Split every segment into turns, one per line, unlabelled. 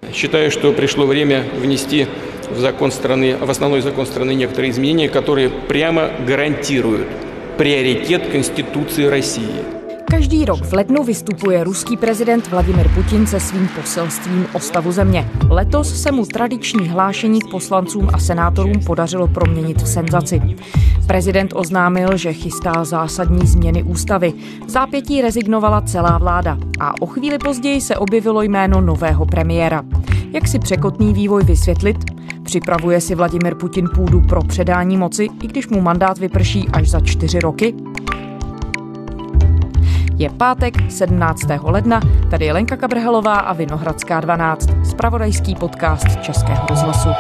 Считаю, что пришло время внести в основной закон страны некоторые изменения, которые прямо гарантируют приоритет Конституции России.
Každý rok v lednu vystupuje ruský prezident Vladimir Putin se svým poselstvím o stavu země. Letos se mu tradiční hlášení k poslancům a senátorům podařilo proměnit v senzaci. Prezident oznámil, že chystá zásadní změny ústavy. V zápětí rezignovala celá vláda a o chvíli později se objevilo jméno nového premiéra. Jak si překotný vývoj vysvětlit? Připravuje si Vladimir Putin půdu pro předání moci, i když mu mandát vyprší až za 4 roky? Je pátek 17. ledna, tady je Lenka Kabrhelová a Vinohradská 12, zpravodajský podcast Českého rozhlasu.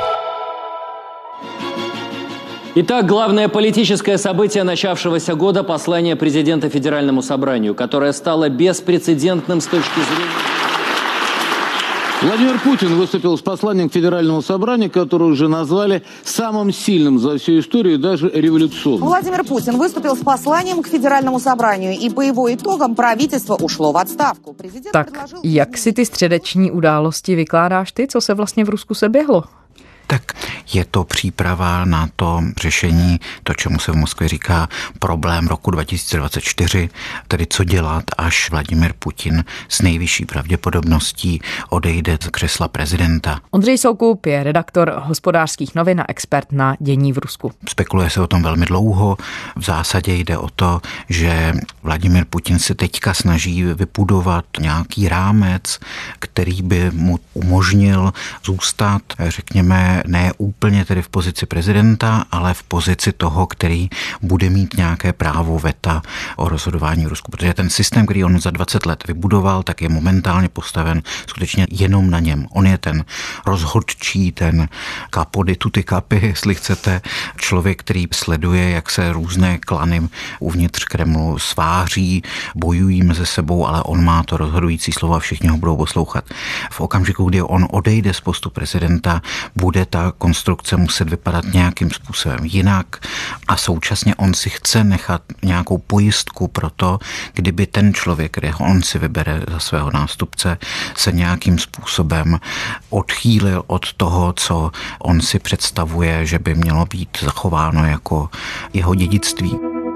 Итак, главное политическое событие начавшегося года – послание президента Федеральному собранию, которое стало беспрецедентным с точки зрения...
Владимир Путин выступил с посланием к Федеральному собранию, которое уже назвали самым сильным за всю историю, даже революционным.
Владимир Путин выступил с посланием к Федеральному собранию, и по его итогам правительство ушло в отставку.
Tak, jak si ty středeční události vykládáš ty, co se vlastně v Rusku seběhlo?
Tak je to příprava na to řešení, to, čemu se v Moskvě říká problém roku 2024, tedy co dělat, až Vladimir Putin s nejvyšší pravděpodobností odejde z křesla prezidenta.
Ondřej Soukup je redaktor Hospodářských novin a expert na dění v Rusku.
Spekuluje se o tom velmi dlouho. V zásadě jde o to, že Vladimir Putin se teďka snaží vybudovat nějaký rámec, který by mu umožnil zůstat, řekněme, ne úplně tedy v pozici prezidenta, ale v pozici toho, který bude mít nějaké právo veta o rozhodování v Rusku. Protože ten systém, který on za 20 let vybudoval, tak je momentálně postaven skutečně jenom na něm. On je ten rozhodčí, ten capo di tutti capi, jestli chcete, člověk, který sleduje, jak se různé klany uvnitř Kremlu sváří, bojují mezi sebou, ale on má to rozhodující slovo a všichni ho budou poslouchat. V okamžiku, kdy on odejde z postu prezidenta, bude ta konstrukce muset vypadat nějakým způsobem jinak a současně on si chce nechat nějakou pojistku pro to, kdyby ten člověk, kterého on si vybere za svého nástupce, se nějakým způsobem odchýlil od toho, co on si představuje, že by mělo být zachováno jako jeho dědictví.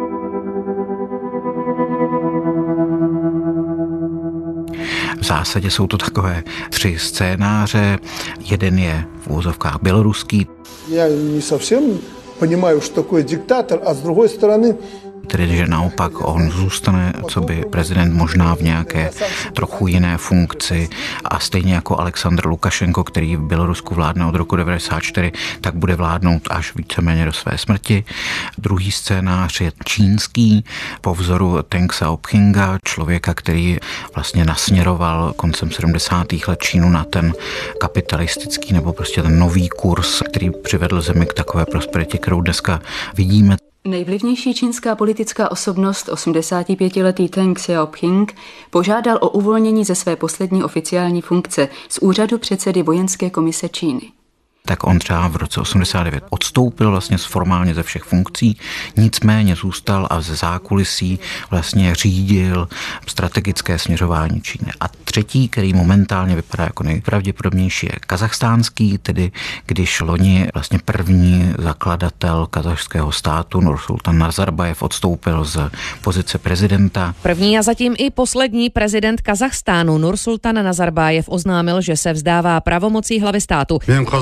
V zásadě jsou to takové 3 scénáře. Jeden je v uvozovkách běloruský.
Já ne совсем понимаю, что такое диктатор, a z druhé strany
tedy, že naopak on zůstane coby prezident možná v nějaké trochu jiné funkci a stejně jako Aleksandr Lukašenko, který v Bělorusku vládne od roku 1994, tak bude vládnout až víceméně do své smrti. Druhý scénář je čínský, po vzoru Deng Xiaopinga, člověka, který vlastně nasměroval koncem 70. let Čínu na ten kapitalistický nebo prostě ten nový kurz, který přivedl zemi k takové prosperitě, kterou dneska vidíme.
Nejvlivnější čínská politická osobnost, 85-letý Deng Xiaoping, požádal o uvolnění ze své poslední oficiální funkce z úřadu předsedy vojenské komise Číny.
Tak on třeba v roce 89 odstoupil vlastně formálně ze všech funkcí, nicméně zůstal a ze zákulisí vlastně řídil strategické směřování Číny. A třetí, který momentálně vypadá jako nejpravděpodobnější, je kazachstánský, tedy když loni vlastně první zakladatel kazachského státu Nursultan Nazarbajev odstoupil z pozice prezidenta.
První a zatím i poslední prezident Kazachstánu Nursultan Nazarbajev oznámil, že se vzdává pravomocí hlavy státu.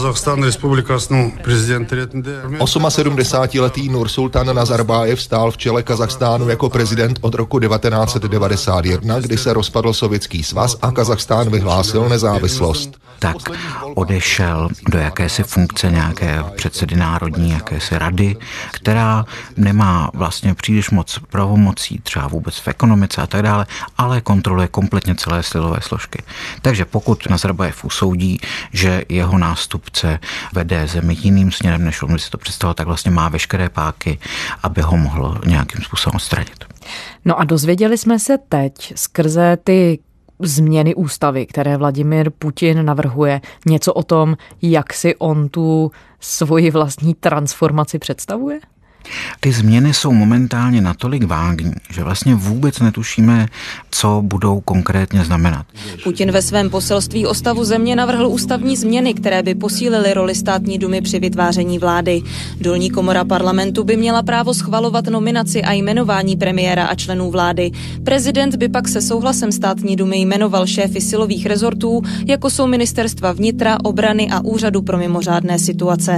78letý Nursultan Nazarbajev stál v čele Kazachstánu jako prezident od roku 1991, kdy se rozpadl Sovětský svaz a Kazachstán vyhlásil nezávislost.
Tak odešel do jakési funkce nějaké předsedy národní, jakési rady, která nemá vlastně příliš moc pravomocí, třeba vůbec v ekonomice a tak dále, ale kontroluje kompletně celé silové složky. Takže pokud Nazarbajev usoudí, že jeho nástupce vede zemi jiným směrem, než on si to představoval, tak vlastně má veškeré páky, aby ho mohlo nějakým způsobem odstranit.
No a dozvěděli jsme se teď skrze ty změny ústavy, které Vladimír Putin navrhuje, něco o tom, jak si on tu svoji vlastní transformaci představuje?
Ty změny jsou momentálně natolik vágní, že vlastně vůbec netušíme, co budou konkrétně znamenat.
Putin ve svém poselství o stavu země navrhl ústavní změny, které by posílily roli státní dumy při vytváření vlády. Dolní komora parlamentu by měla právo schvalovat nominaci a jmenování premiéra a členů vlády. Prezident by pak se souhlasem státní dumy jmenoval šéfy silových rezortů, jako jsou ministerstva vnitra, obrany a úřadu pro mimořádné situace.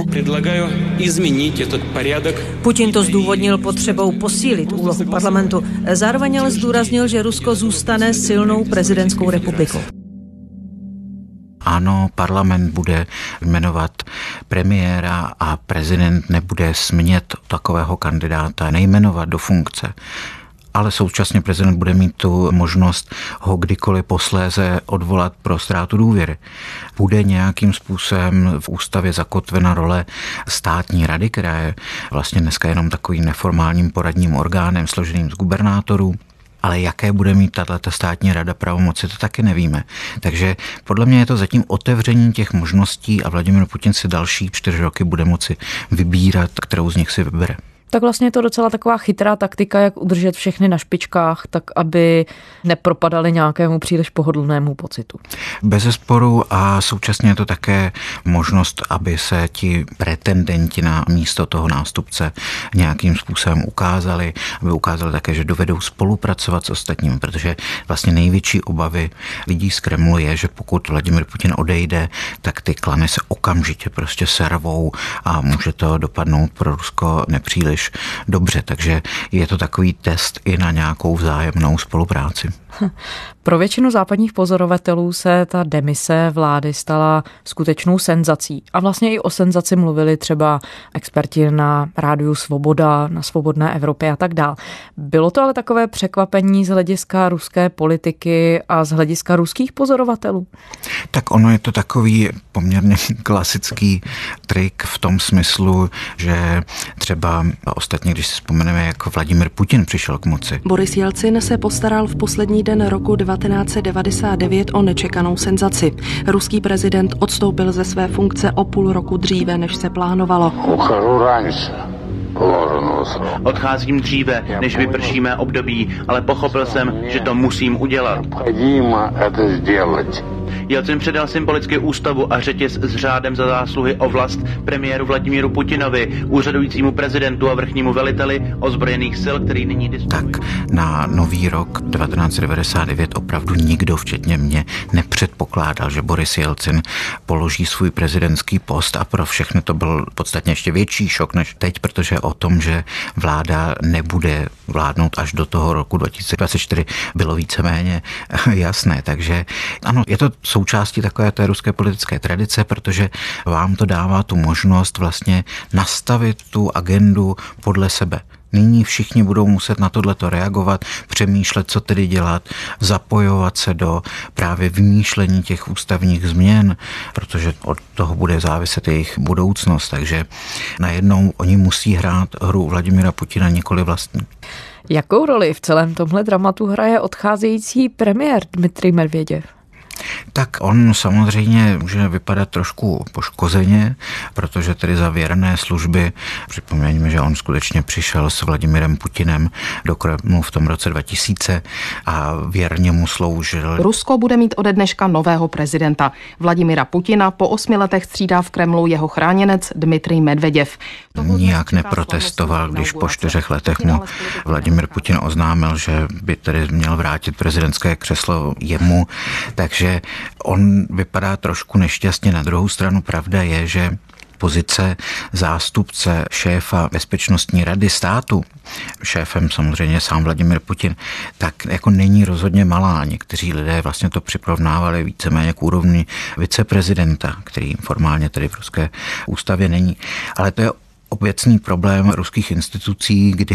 Putin to zdůvodnil potřebou posílit úlohu parlamentu. Zároveň ale zdůraznil, že Rusko zůstane silnou prezidentskou republikou.
Ano, parlament bude jmenovat premiéra a prezident nebude smět takového kandidáta nejmenovat do funkce. Ale současně prezident bude mít tu možnost ho kdykoliv posléze odvolat pro ztrátu důvěry. Bude nějakým způsobem v ústavě zakotvena role státní rady, která je vlastně dneska jenom takovým neformálním poradním orgánem složeným z gubernátorů. Ale jaké bude mít tato státní rada pravomoci, to taky nevíme. Takže podle mě je to zatím otevření těch možností a Vladimír Putin si další 4 roky bude moci vybírat, kterou z nich si vybere.
Tak vlastně je to docela taková chytrá taktika, jak udržet všechny na špičkách, tak aby nepropadali nějakému příliš pohodlnému pocitu.
Bezesporu a současně je to také možnost, aby se ti pretendenti na místo toho nástupce nějakým způsobem ukázali, aby ukázali také, že dovedou spolupracovat s ostatními, protože vlastně největší obavy lidí z Kremlu je, že pokud Vladimír Putin odejde, tak ty klany se okamžitě prostě servou a může to dopadnout pro Rusko nepříliš dobře, takže je to takový test i na nějakou vzájemnou spolupráci.
Pro většinu západních pozorovatelů se ta demise vlády stala skutečnou senzací. A vlastně i o senzaci mluvili třeba experti na rádiu Svoboda, na Svobodné Evropě a tak dál. Bylo to ale takové překvapení z hlediska ruské politiky a z hlediska ruských pozorovatelů?
Tak ono je to takový poměrně klasický trik v tom smyslu, že třeba ostatně, když si vzpomeneme, jak Vladimír Putin přišel k moci.
Boris Jelcin se postaral v poslední den roku 1999 o nečekanou senzaci. Ruský prezident odstoupil ze své funkce o půl roku dříve, než se plánovalo.
Odcházím dříve, než vyprší mé období, ale pochopil jsem, že to musím udělat. Jelcin předal symbolicky ústavu a řetěz s řádem za zásluhy o vlast premiéru Vladimíru Putinovi, úřadujícímu prezidentu a vrchnímu veliteli ozbrojených sil, který nyní disponuje.
Tak na nový rok 1999 opravdu nikdo, včetně mě, nepředpokládal, že Boris Jelcin položí svůj prezidentský post a pro všechny to byl podstatně ještě větší šok než teď, protože o tom, že vláda nebude vládnout až do toho roku 2024, bylo víceméně jasné. Takže ano, je to součástí takové té ruské politické tradice, protože vám to dává tu možnost vlastně nastavit tu agendu podle sebe. Nyní všichni budou muset na tohleto reagovat, přemýšlet, co tedy dělat, zapojovat se do právě vymýšlení těch ústavních změn, protože od toho bude záviset jejich budoucnost. Takže najednou oni musí hrát hru Vladimíra Putina, nikoli vlastní.
Jakou roli v celém tomhle dramatu hraje odcházející premiér Dmitrij Medveděv?
Tak on samozřejmě může vypadat trošku poškozeně, protože tedy za věrné služby, připomeňme, že on skutečně přišel s Vladimirem Putinem do Kremlu v tom roce 2000 a věrně mu sloužil.
Rusko bude mít ode dneška nového prezidenta. Vladimira Putina po 8 letech střídá v Kremlu jeho chráněnec Dmitrij Medveděv.
Nijak neprotestoval, když po 4 letech mu Vladimir Putin oznámil, že by tedy měl vrátit prezidentské křeslo jemu, takže on vypadá trošku nešťastně. Na druhou stranu pravda je, že pozice zástupce šéfa Bezpečnostní rady státu, šéfem samozřejmě sám Vladimír Putin, tak jako není rozhodně malá. Někteří lidé vlastně to přirovnávali víceméně k úrovni viceprezidenta, který formálně tedy v ruské ústavě není. Ale to je obecný problém ruských institucí, kdy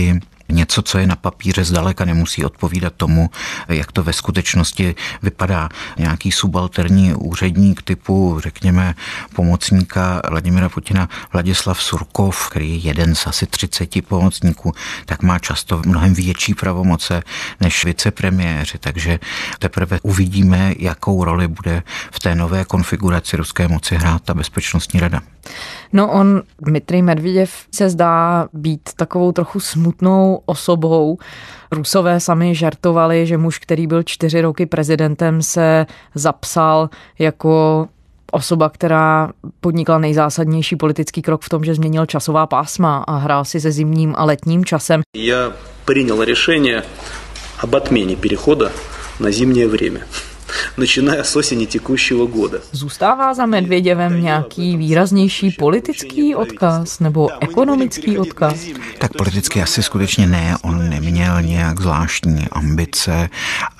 Něco, co je na papíře, zdaleka nemusí odpovídat tomu, jak to ve skutečnosti vypadá. Nějaký subalterní úředník typu, řekněme, pomocníka Vladimira Putina Vladislav Surkov, který je jeden z asi 30 pomocníků, tak má často mnohem větší pravomoce než vicepremiéři, takže teprve uvidíme, jakou roli bude v té nové konfiguraci ruské moci hrát ta bezpečnostní rada.
No on, Dmitrij Medveděv, se zdá být takovou trochu smutnou osobou. Rusové sami žartovali, že muž, který byl 4 roky prezidentem, se zapsal jako osoba, která podnikla nejzásadnější politický krok v tom, že změnil časová pásma a hrál si se zimním a letním časem.
Já принял решение об отмене перехода на зимнее время, начиная с осени текущего года.
Zůstává za Medvěděvem nějaký výraznější politický odkaz nebo ekonomický odkaz?
Tak politicky asi skutečně ne, on neměl nějak zvláštní ambice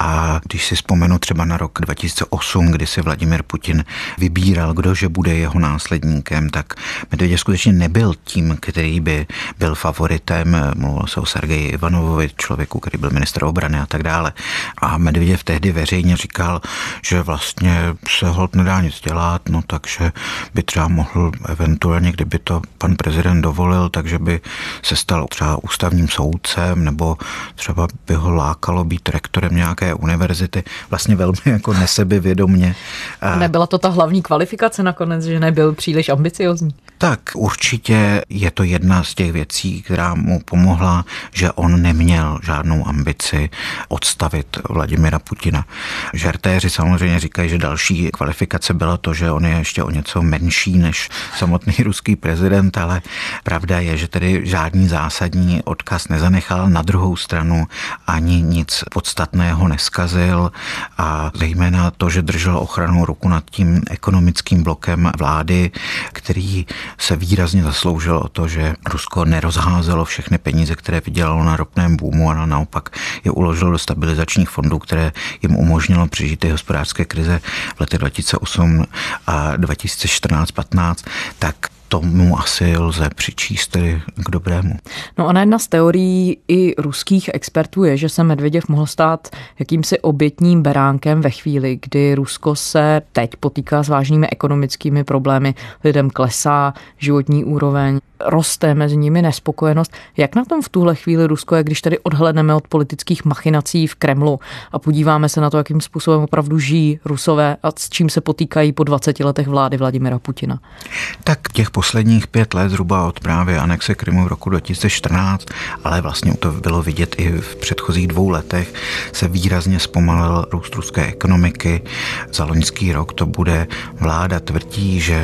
a když si vzpomenu třeba na rok 2008, kdy si Vladimir Putin vybíral, kdože bude jeho následníkem, tak Medvěděv skutečně nebyl tím, který by byl favoritem, mluvilo se o Sergeji Ivanovovi, člověku, který byl ministr obrany a tak dále. A Medvěděv tehdy veřejně říkal, že vlastně se holt nedá nic dělat, no takže by třeba mohl eventuálně, kdyby to pan prezident dovolil, takže by se stal třeba ústavním soudcem, nebo třeba by ho lákalo být rektorem nějaké univerzity, vlastně velmi jako nesebevědomně.
A nebyla to ta hlavní kvalifikace nakonec, že nebyl příliš ambiciozní?
Tak určitě je to jedna z těch věcí, která mu pomohla, že on neměl žádnou ambici odstavit Vladimira Putina. Žertéři samozřejmě říkají, že další kvalifikace byla to, že on je ještě o něco menší než samotný ruský prezident, ale pravda je, že tedy žádný zásadní odkaz nezanechal. Na druhou stranu ani nic podstatného neskazil a zejména to, že držel ochrannou ruku nad tím ekonomickým blokem vlády, který se výrazně zasloužil o to, že Rusko nerozházelo všechny peníze, které vydělalo na ropném boomu, a naopak je uložilo do stabilizačních fondů, které jim umožnilo přežít ty hospodářské krize v letech 2008 a 2014-15, tak tomu asi lze přičíst tedy k dobrému.
No a jedna z teorií i ruských expertů je, že se Medvěděv mohl stát jakýmsi obětním beránkem ve chvíli, kdy Rusko se teď potýká s vážnými ekonomickými problémy. Lidem klesá životní úroveň, roste mezi nimi nespokojenost. Jak na tom v tuhle chvíli Rusko je, když tedy odhlédneme od politických machinací v Kremlu a podíváme se na to, jakým způsobem opravdu žijí Rusové a s čím se potýkají po 20 letech vlády Vladimira Putina?
Tak těch posledních 5 let zhruba od právě anexe Krymu v roku 2014, ale vlastně to bylo vidět i v předchozích 2 letech, se výrazně zpomalil růst ruské ekonomiky. Za loňský rok to bude, vláda tvrdí, že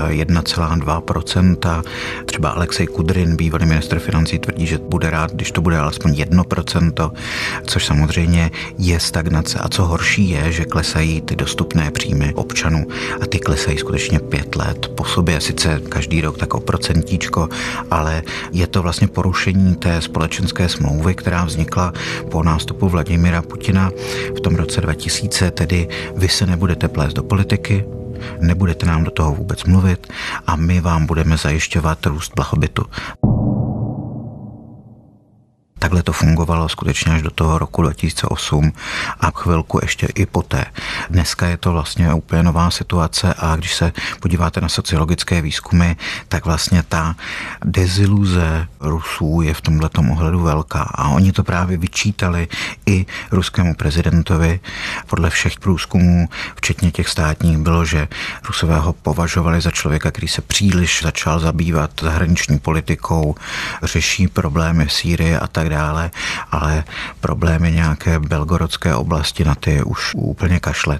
1,2%, třeba Alexej Kudrin, bývalý ministr financí, tvrdí, že bude rád, když to bude alespoň 1%, což samozřejmě je stagnace. A co horší je, že klesají ty dostupné příjmy občanů a ty klesají skutečně 5 let po sobě, sice každý rok tak o procentíčko, ale je to vlastně porušení té společenské smlouvy, která vznikla po nástupu Vladimira Putina v tom roce 2000, tedy vy se nebudete plést do politiky, nebudete nám do toho vůbec mluvit a my vám budeme zajišťovat růst blahobytu. Takhle to fungovalo skutečně až do toho roku 2008 a chvilku ještě i poté. Dneska je to vlastně úplně nová situace a když se podíváte na sociologické výzkumy, tak vlastně ta deziluze Rusů je v tomhletom ohledu velká a oni to právě vyčítali i ruskému prezidentovi. Podle všech průzkumů, včetně těch státních, bylo, že Rusové ho považovali za člověka, který se příliš začal zabývat zahraniční politikou, řeší problémy v Sýrii a tak dále, ale problémy nějaké belgorodské oblasti na ty už úplně kašle.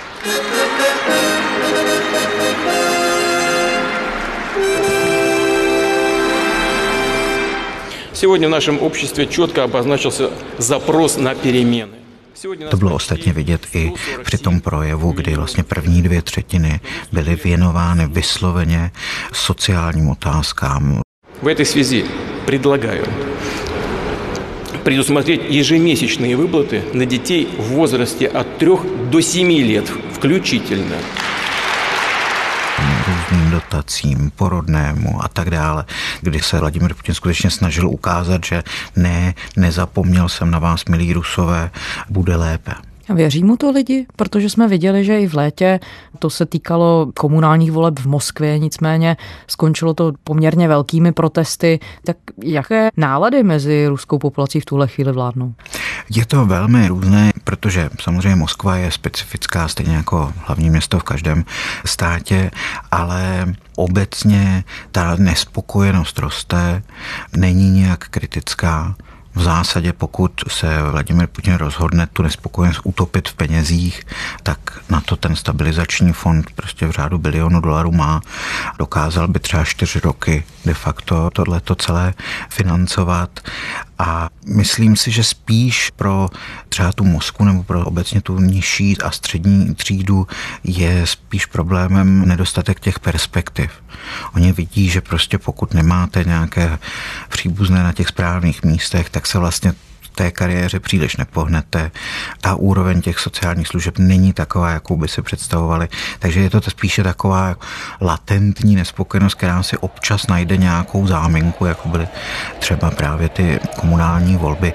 Сегодня в нашем обществе четко обозначился запрос на перемены.
To bylo ostatně vidět i při tom projevu, kdy vlastně první 2/3 byly věnovány vysloveně sociálním otázkám.
В этой связи предлагаю предусмотреть ежемесячные выплаты на детей в возрасте от 3 до 7 лет включительно.
různým dotacím, porodnému a tak dále, kdy se Vladimír Putin skutečně snažil ukázat, že nezapomněl jsem na vás, milí Rusové, bude lépe.
A věří mu to lidi? Protože jsme viděli, že i v létě to se týkalo komunálních voleb v Moskvě, nicméně skončilo to poměrně velkými protesty. Tak jaké nálady mezi ruskou populací v tuhle chvíli vládnou?
Je to velmi různé, protože samozřejmě Moskva je specifická, stejně jako hlavní město v každém státě, ale obecně ta nespokojenost roste, není nějak kritická. V zásadě, pokud se Vladimír Putin rozhodne tu nespokojenost utopit v penězích, tak na to ten stabilizační fond prostě v řádu $1 bilionu má. Dokázal by třeba 4 roky de facto tohleto celé financovat. A myslím si, že spíš pro třeba tu Moskvu nebo pro obecně tu nižší a střední třídu je spíš problémem nedostatek těch perspektiv. Oni vidí, že prostě pokud nemáte nějaké příbuzné na těch správných místech, tak se vlastně v té kariéře příliš nepohnete. Ta úroveň těch sociálních služeb není taková, jakou by si představovali. Takže je to spíše taková latentní nespokojenost, která si občas najde nějakou záminku, jako byly třeba právě ty komunální volby.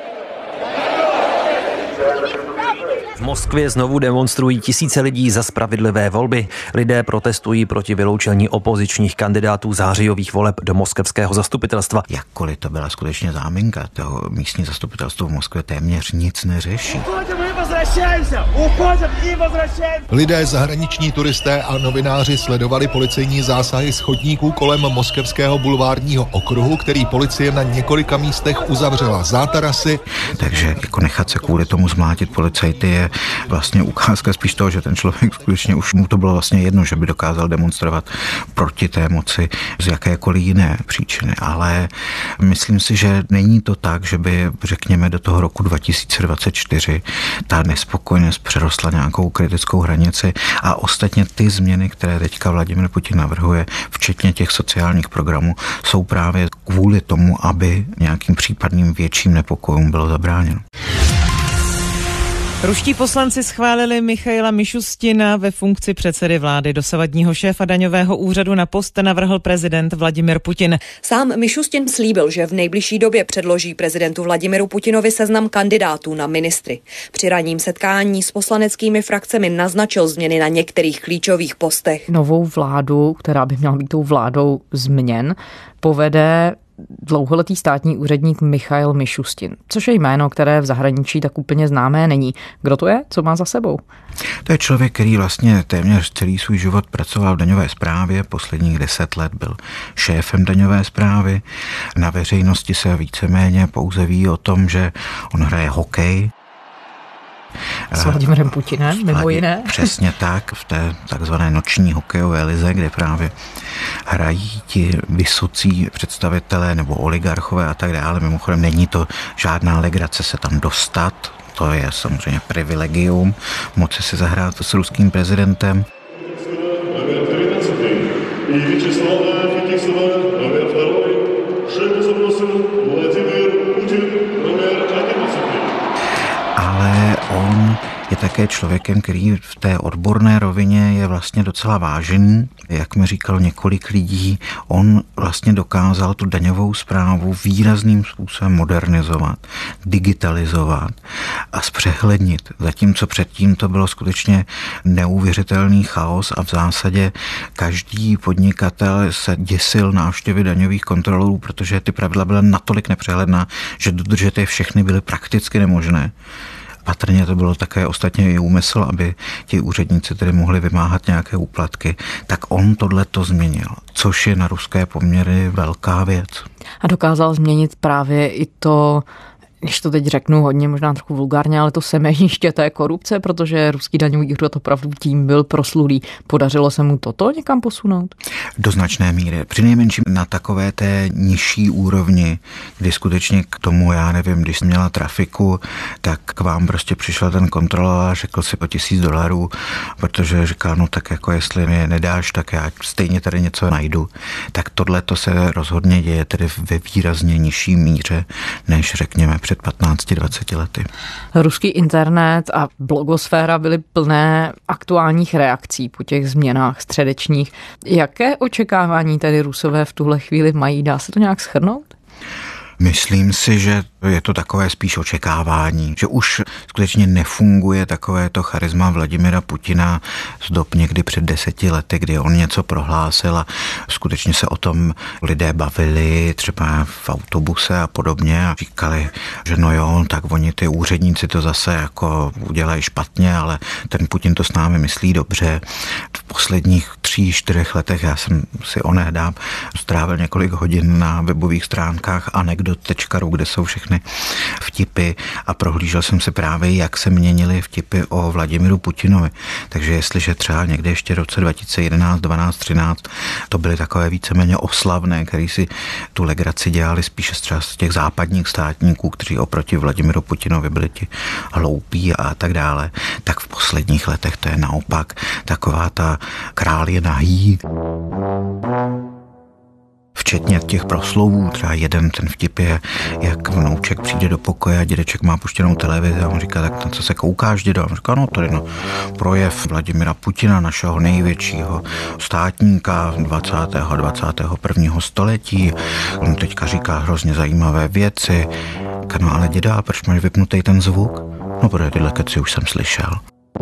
V Moskvě znovu demonstrují tisíce lidí za spravedlivé volby. Lidé protestují proti vyloučení opozičních kandidátů zářijových voleb do moskevského zastupitelstva.
Jakkoliv to byla skutečně záminka, toho místní zastupitelstvo v Moskvě téměř nic neřeší.
Lidé, zahraniční turisté a novináři sledovali policejní zásahy z chodníků kolem moskevského bulvárního okruhu, který policie na několika místech uzavřela zátarasy.
Takže jako nechat se kvůli tomu zmlátit policajty je vlastně ukázka spíš toho, že ten člověk skutečně už mu to bylo vlastně jedno, že by dokázal demonstrovat proti té moci z jakékoliv jiné příčiny. Ale myslím si, že není to tak, že by, řekněme, do toho roku 2024 ta nespokojenost přerostla nějakou kritickou hranici a ostatně ty změny, které teďka Vladimír Putin navrhuje, včetně těch sociálních programů, jsou právě kvůli tomu, aby nějakým případným větším nepokojům bylo zabráněno.
Ruští poslanci schválili Michaila Mišustina ve funkci předsedy vlády. Dosavadního šéfa daňového úřadu na post navrhl prezident Vladimír Putin.
Sám Mišustin slíbil, že v nejbližší době předloží prezidentu Vladimiru Putinovi seznam kandidátů na ministry. Při ranním setkání s poslaneckými frakcemi naznačil změny na některých klíčových postech. Novou vládu, která by měla být tou vládou změn, povede dlouholetý státní úředník Michail Mišustin, což je jméno, které v zahraničí tak úplně známé není. Kdo to je? Co má za sebou?
To je člověk, který vlastně téměř celý svůj život pracoval v daňové správě, posledních 10 let byl šéfem daňové správy. Na veřejnosti se víceméně pouze ví o tom, že on hraje hokej.
S Vladimírem Putinem, mimo jiné.
Přesně tak, v té takzvané noční hokejové lize, kde právě hrají ti vysocí představitelé nebo oligarchové a tak dále. Mimochodem není to žádná legrace se tam dostat, to je samozřejmě privilegium, moci si zahrát s ruským prezidentem. Ale on je také člověkem, který v té odborné rovině je vlastně docela vážený. Jak mi říkalo několik lidí, on vlastně dokázal tu daňovou správu výrazným způsobem modernizovat, digitalizovat a zpřehlednit. Zatímco předtím to bylo skutečně neuvěřitelný chaos a v zásadě každý podnikatel se děsil návštěvy daňových kontrolorů, protože ty pravidla byla natolik nepřehledná, že dodržet je všechny byly prakticky nemožné. Patrně to bylo také ostatně i úmysl, aby ti úředníci tedy mohli vymáhat nějaké úplatky, tak on tohleto změnil, což je na ruské poměry velká věc.
A dokázal změnit právě i to, když to teď řeknu hodně, možná trochu vulgárně, ale to semeniště té korupce, protože ruský daňový úřad opravdu tím byl proslulý. Podařilo se mu toto někam posunout?
Do značné míry. Přinejmenším na takové té nižší úrovni, kdy skutečně k tomu, já nevím, když jsem měla trafiku, tak k vám prostě přišel ten kontrolor a řekl si po $1000, protože říkal, no tak jako jestli mi je nedáš, tak já stejně tady něco najdu. Tak tohle to se rozhodně děje tedy ve výrazně nižší míře, než řekněme před před 15-20 lety.
Ruský internet a blogosféra byly plné aktuálních reakcí po těch změnách středečních. Jaké očekávání tedy Rusové v tuhle chvíli mají? Dá se to nějak shrnout?
Myslím si, že je to takové spíš očekávání, že už skutečně nefunguje takové to charisma Vladimira Putina z dob někdy před 10 lety, kdy on něco prohlásil a skutečně se o tom lidé bavili, třeba v autobuse a podobně a říkali, že no jo, tak oni ty úředníci to zase jako udělají špatně, ale ten Putin to s námi myslí dobře. V posledních 3-4 letech já jsem si onehdám strávil několik hodin na webových stránkách anekdot.ru, kde jsou všechny vtipy a prohlížel jsem se právě, jak se měnily vtipy o Vladimiru Putinovi. Takže jestliže třeba někde ještě v roce 2011, 12, 13 to byly takové víceméně oslavné, který si tu legraci dělali spíše třeba z těch západních státníků, kteří oproti Vladimiru Putinovi byli ti hloupí a tak dále, tak v posledních letech to je naopak taková ta král je nahý. Včetně těch proslovů, třeba jeden ten vtip je, jak vnouček přijde do pokoje a dědeček má puštěnou televizi a on říká, tak na co se koukáš, dědo? A on říká, no tady no, projev Vladimira Putina, našeho největšího státníka 20. a 21. století. On teďka říká hrozně zajímavé věci. No ale děda, proč máš vypnutý ten zvuk? No protože tyhle keci už jsem slyšel.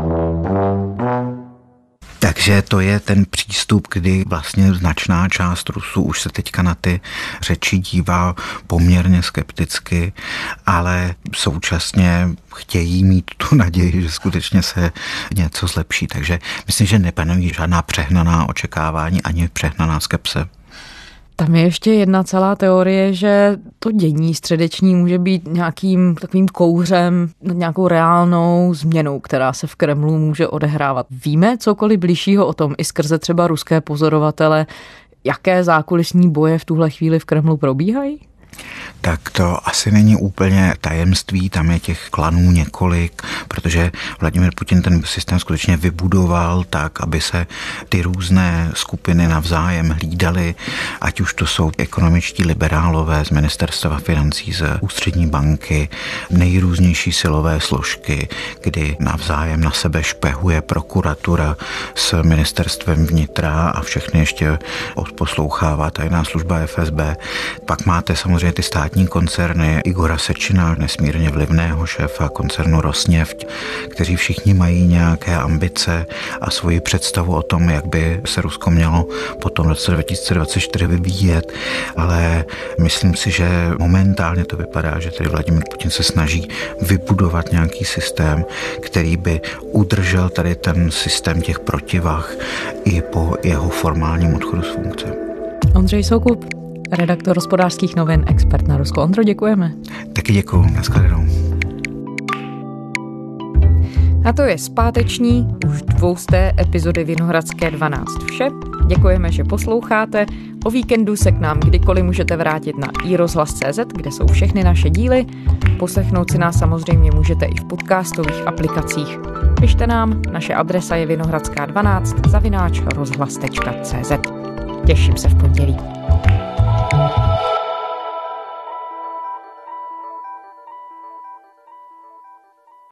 Takže to je ten přístup, kdy vlastně značná část Rusů už se teďka na ty řeči dívá poměrně skepticky, ale současně chtějí mít tu naději, že skutečně se něco zlepší. Takže myslím, že nepanují žádná přehnaná očekávání ani přehnaná skepse.
Tam je ještě jedna celá teorie, že to dění středeční může být nějakým takovým kouřem, nějakou reálnou změnou, která se v Kremlu může odehrávat. Víme cokoliv bližšího o tom i skrze třeba ruské pozorovatele, jaké zákulisní boje v tuhle chvíli v Kremlu probíhají?
Tak to asi není úplně tajemství, tam je těch klanů několik, protože Vladimir Putin ten systém skutečně vybudoval tak, aby se ty různé skupiny navzájem hlídaly, ať už to jsou ekonomičtí liberálové z ministerstva financí, z ústřední banky, nejrůznější silové složky, kdy navzájem na sebe špehuje prokuratura s ministerstvem vnitra a všechny ještě odposlouchává tajná služba FSB. Pak máte samozřejmě ty státní koncerny Igora Sečina, nesmírně vlivného šéfa koncernu Rosneft, kteří všichni mají nějaké ambice a svoji představu o tom, jak by se Rusko mělo potom v roce 2024 vyvíjet, ale myslím si, že momentálně to vypadá, že tedy Vladimir Putin se snaží vybudovat nějaký systém, který by udržel tady ten systém těch protivah i po jeho formálním odchodu z funkce.
Ondřej Soukup, redaktor Hospodářských novin, expert na Rusko. Ondro, děkujeme.
Taky děkuju, nashledanou.
A to je zpáteční, už 200. epizody Vinohradské 12 vše. Děkujeme, že posloucháte. O víkendu se k nám kdykoliv můžete vrátit na iRozhlas.cz, kde jsou všechny naše díly. Poslechnout si nás samozřejmě můžete i v podcastových aplikacích. Pište nám, naše adresa je vinohradská12 @rozhlas.cz. Těším se v pondělí.